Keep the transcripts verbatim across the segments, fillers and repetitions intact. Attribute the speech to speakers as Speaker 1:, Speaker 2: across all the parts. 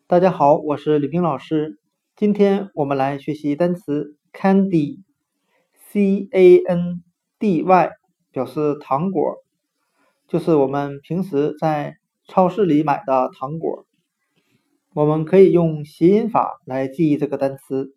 Speaker 1: 大家好，我是吕冰老师。今天我们来学习单词 candy，C A N D Y， 表示糖果，就是我们平时在超市里买的糖果。我们可以用谐音法来记忆这个单词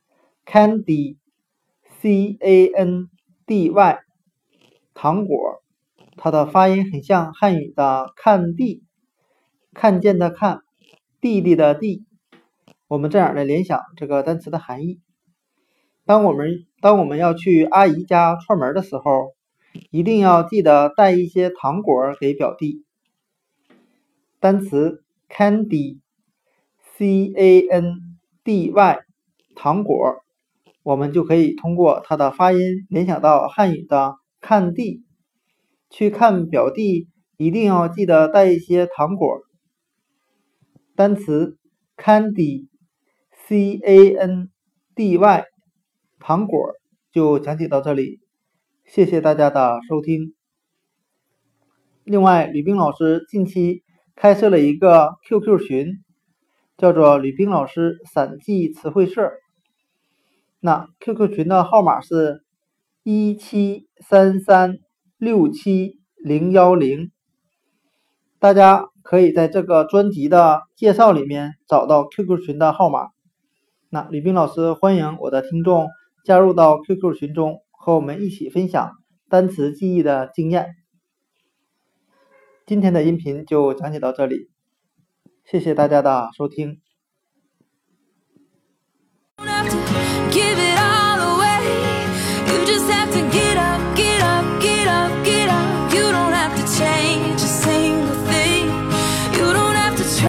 Speaker 1: candy，C A N D Y， 糖果，它的发音很像汉语的看地，看见的看，弟弟的弟。我们这样来联想这个单词的含义。当我们当我们要去阿姨家串门的时候，一定要记得带一些糖果给表弟。单词 candy，C A N D Y， 糖果，我们就可以通过它的发音联想到汉语的看地。去看表弟一定要记得带一些糖果。单词 candy，C A N D Y， 糖果就讲解到这里，谢谢大家的收听。另外，吕冰老师近期开设了一个 Q Q 群，叫做吕冰老师散记词汇社。那 Q Q 群的号码是一七三三六七零一零，大家可以在这个专辑的介绍里面找到 Q Q 群的号码。那吕冰老师欢迎我的听众加入到 Q Q 群中，和我们一起分享单词记忆的经验。今天的音频就讲解到这里，谢谢大家的收听。Give it